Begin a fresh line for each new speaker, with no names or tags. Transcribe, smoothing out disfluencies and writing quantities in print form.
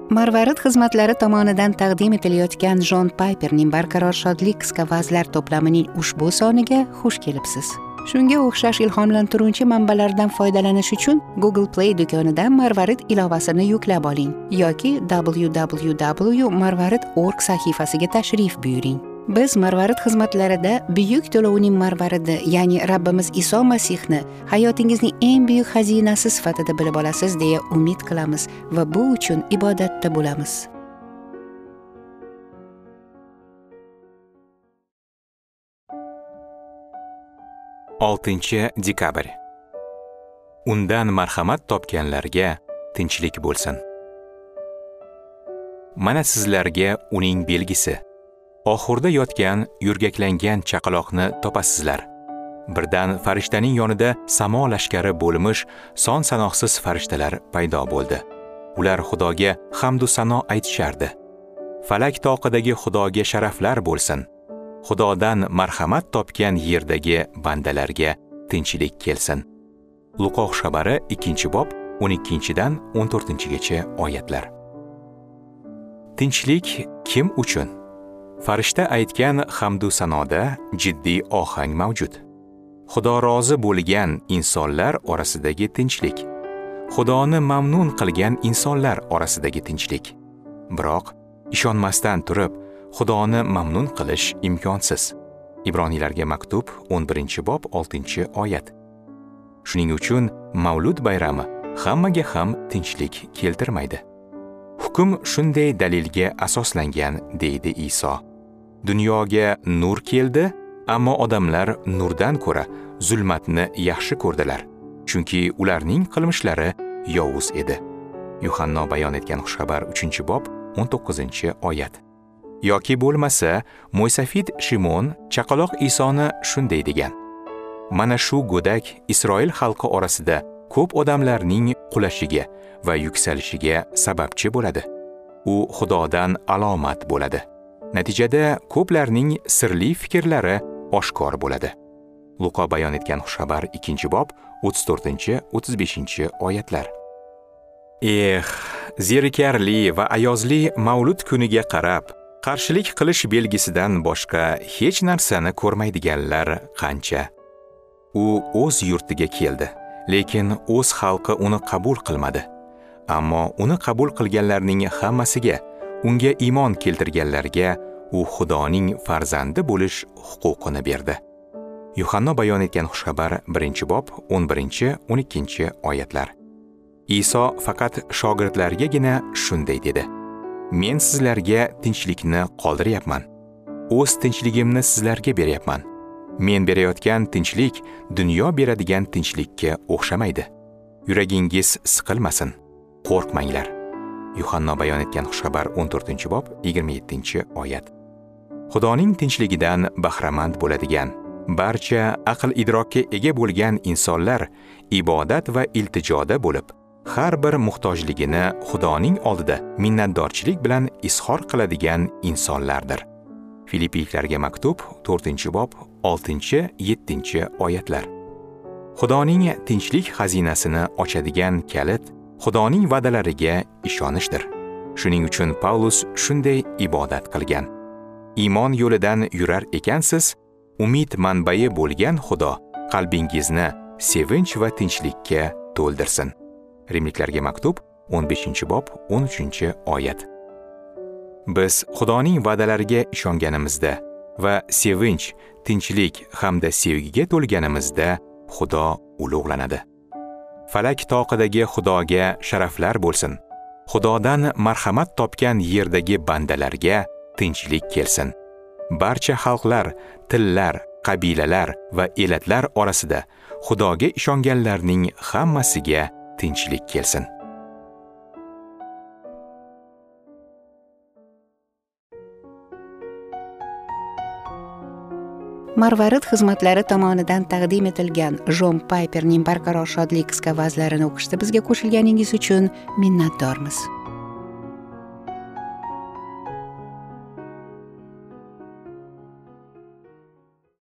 Marvarid xizmatlari tomonidan taqdim etilayotgan Jon Payperning Barqaror shodlik qisqa vazlar to'plamining ushbu soniga xush kelibsiz. Shunga o'xshash ilhomlantiruvchi manbalardan foydalanish uchun Google Play do'konidan Marvarid ilovasini yuklab oling yoki www.marvarid.org sahifasiga tashrif buyuring. Biz Marvarid xizmatlarida buyuk to'lovning marvaridi, ya'ni Rabbimiz Iso Masihni hayotingizning eng buyuk xazinasi sifatida bilib olasiz deya umid qilamiz va bu uchun ibodatda bo'lamiz.
Oltinchi dekabr. Undan marhamat topganlarga tinchlik bo'lsin. Mana sizlarga uning belgisi. Oxurda yotgan yurgaklangan chaqaloqni topasizlar. Birdan farishtaning yonida samo lashkari bo'lmish son sanoqsiz farishtalar paydo bo'ldi. Ular Xudoga hamd va sano aytishardi. Falak toqidagi Xudoga sharaflar bo'lsin. Xudodan marhamat topgan yerdagi bandalarga tinchlik kelsin. Luqoq xabari 2-bob 12-dan 14-gacha oyatlar. Tinchlik kim uchun? Farishta aytgan hamdu sanoda jiddiy ohang mavjud. Xudo rozi bo'lgan insonlar orasidagi tinchlik. Xudoni mamnun qilgan insonlar orasidagi tinchlik. Biroq ishonmasdan turib, Xudoni mamnun qilish imkonsiz. Ibroniylarga maktub 11-bob 6-oyat. Shuning uchun Mavlud bayrami hammaga ham tinchlik keltirmaydi. Hukm shunday dalilga asoslangan, deydi Iso. Dunyoga nur keldi, ammo odamlar nurdan ko'ra zulmatni yaxshi ko'rdilar, chunki ularning qilmishlari yovuz edi. Yuhanno bayon etgan xushxabar 3-bob 19-oyat. Yoki bo'lmasa, Mo'ysafid Shimon chaqaloq Isoni shunday degan: Mana shu go'dak Isroil xalqi orasida ko'p odamlarning qulashiga va yuksalishiga sababchi bo'ladi. U Xudodan alomat bo'ladi. Natijada ko'plarning sirli fikrlari oshkor bo'ladi. Luqo bayon etgan xushxabar 2-bob 34-35-oyatlar. Zerikarli va ayozli Mavlud kuniga qarab, qarshilik qilish belgisidan boshqa hech narsani ko'rmaydiganlar qancha. U o'z yurtiga keldi, lekin o'z xalqi uni qabul qilmadi. Ammo uni qabul qilganlarning hammasiga, unga iymon keltirganlarga u Xudoning farzandi bo'lish huquqini berdi. Yuhanno bayon etgan xushxabar 1-bob 11-12-oyatlar. Iso faqat shogirdlargagina shunday dedi: Men sizlarga tinchlikni qoldiryapman. O'z tinchligimni sizlarga beryapman. Men berayotgan tinchlik dunyo beradigan tinchlikka o'xshamaydi. Yuragingiz siqilmasin, qo'rqmanglar. Yuhanno bayon etgan xushxabar 14-bob 27-oyat. Xudoning tinchligidan bahramand bo'ladigan, barcha aql idrokka ega bo'lgan insonlar ibodat va iltijoda bo'lib, har bir muhtojligini Xudoning oldida minnatdorchilik bilan izhor qiladigan insonlardir. Filipiylarga maktub 4-bob 6-7-oyatlar. Xudoning tinchlik xazinasini ochadigan kalit Xudoning va'dalariga ishonishdir. Shuning uchun Paulus shunday ibodat qilgan: Iymon yo'lidan yurar ekansiz, umid manbai bo'lgan Xudo qalbingizni sevinch va tinchlikka to'ldirsin. Rimliklarga maktub 15-bob 13-oyat. Biz Xudoning va'dalariga ishonganimizda va sevinch, tinchlik hamda sevgiga to'lganimizda Xudo ulug'lanadi. Falak toqidagi Xudoga sharaflar bo'lsin. Xudodan marhamat topgan yerdagi bandalarga tinchlik kelsin. Barcha xalqlar, tillar, qabilalar va elatlar orasida Xudoga ishonganlarning hammasiga tinchlik kelsin.
Marvarid xizmatlari tomonidan taqdim etilgan Jon Payperning Barqaror shodlik qisqa vazlarini o'qishda bizga qo'shilganingiz uchun minnatdormiz.